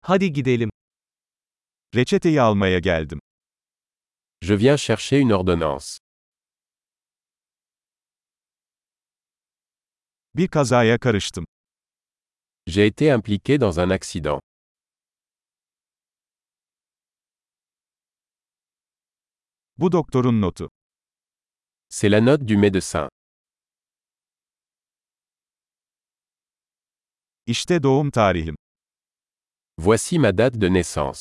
Hadi gidelim. Reçeteyi almaya geldim. Je viens chercher une ordonnance. Bir kazaya karıştım. J'ai été impliqué dans un accident. Bu doktorun notu. C'est la note du médecin. İşte doğum tarihim. Voici ma date de naissance.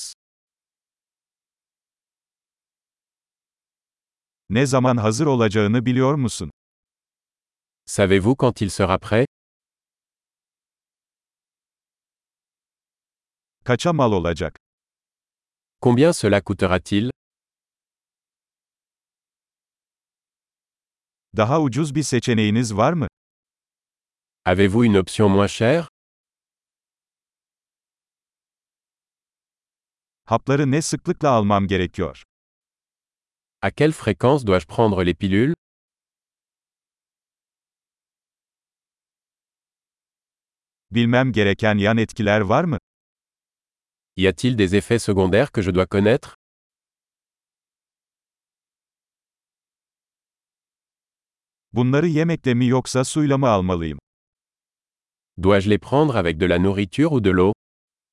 Ne zaman hazır olacağını biliyor musun? Savez-vous quand il sera prêt? Kaça mal olacak? Combien cela coûtera-t-il? Daha ucuz bir seçeneğiniz var mı? Avez-vous une option moins chère? Hapları ne sıklıkla almam gerekiyor? À quelle fréquence dois-je prendre les pilules? Bilmem gereken yan etkiler var mı? Y a-t-il des effets secondaires que je dois connaître? Bunları yemekle mi yoksa suyla mı almalıyım? Dois-je les prendre avec de la nourriture ou de l'eau?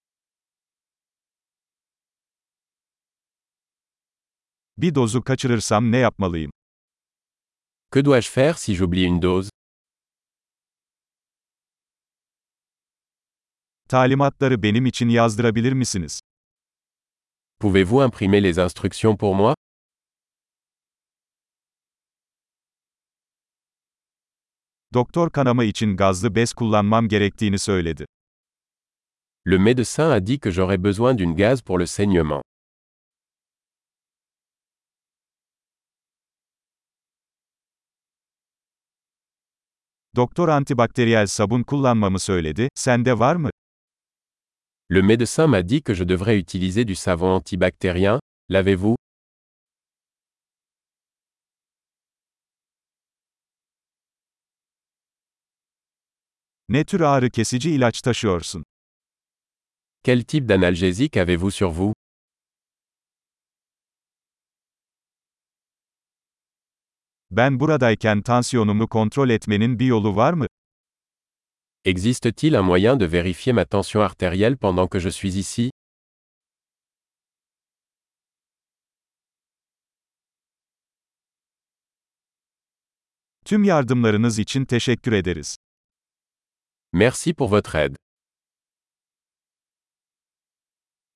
Bir dozu kaçırırsam ne yapmalıyım? Que dois-je faire si j'oublie une dose? Talimatları benim için yazdırabilir misiniz? Pouvez-vous imprimer les instructions pour moi? Doktor kanama için gazlı bez kullanmam gerektiğini söyledi. Le médecin a dit que j'aurais besoin d'une gaz pour le saignement. Doktor antibakteriyel sabun kullanmamı söyledi, sende var mı? Le médecin m'a dit que je devrais utiliser du savon antibactérien, l'avez-vous? Ne tür ağrı kesici ilaç taşıyorsun? Quel type d'analgésique avez-vous sur vous? Ben buradayken tansiyonumu kontrol etmenin bir yolu var mı? Existe-t-il un moyen de vérifier ma tension artérielle pendant que je suis ici? Tüm yardımlarınız için teşekkür ederiz. Merci pour votre aide.